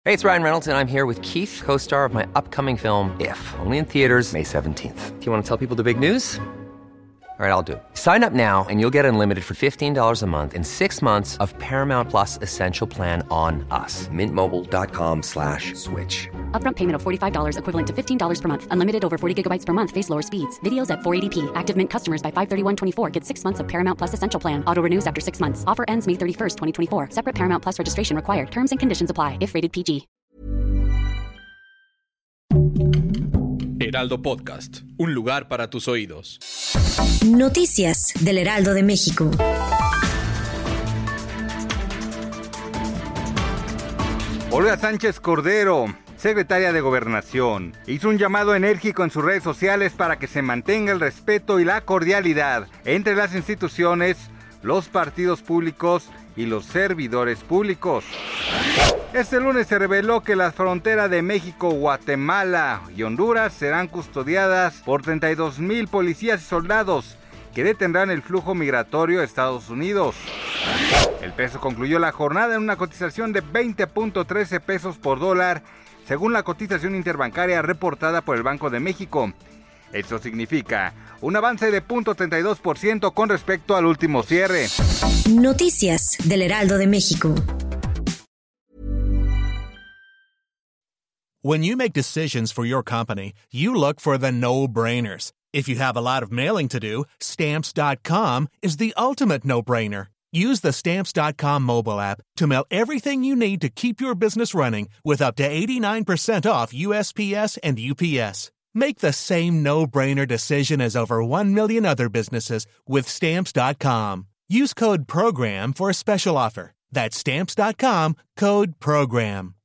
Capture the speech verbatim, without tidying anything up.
Hey, it's Ryan Reynolds, and I'm here with Keith, co-star of my upcoming film, If, only in theaters May seventeenth. Do you want to tell people the big news? All right, I'll do it. Sign up now and you'll get unlimited for fifteen dollars a month and six months of Paramount Plus Essential Plan on us. Mint Mobile dot com slash switch. Upfront payment of forty-five dollars equivalent to fifteen dollars per month. Unlimited over forty gigabytes per month. Face lower speeds. Videos at four eighty p. Active Mint customers by five thirty-one twenty-four get six months of Paramount Plus Essential Plan. Auto renews after six months. Offer ends May thirty-first, twenty twenty-four. Separate Paramount Plus registration required. Terms and conditions apply if rated P G. Heraldo Podcast, un lugar para tus oídos. Noticias del Heraldo de México. Olga Sánchez Cordero, secretaria de Gobernación, hizo un llamado enérgico en sus redes sociales para que se mantenga el respeto y la cordialidad entre las instituciones, los partidos públicos y los servidores públicos. Este lunes se reveló que las fronteras de México, Guatemala y Honduras serán custodiadas por treinta y dos mil policías y soldados que detendrán el flujo migratorio a Estados Unidos. El peso concluyó la jornada en una cotización de veinte punto trece pesos por dólar, según la cotización interbancaria reportada por el Banco de México. Esto significa un avance de cero punto treinta y dos por ciento con respecto al último cierre. Noticias del Heraldo de México. When you make decisions for your company, you look for the no-brainers. If you have a lot of mailing to do, Stamps dot com is the ultimate no-brainer. Use the Stamps dot com mobile app to mail everything you need to keep your business running with up to eighty-nine percent off U S P S and U P S. Make the same no-brainer decision as over one million other businesses with Stamps dot com. Use code PROGRAM for a special offer. That's Stamps dot com, code PROGRAM.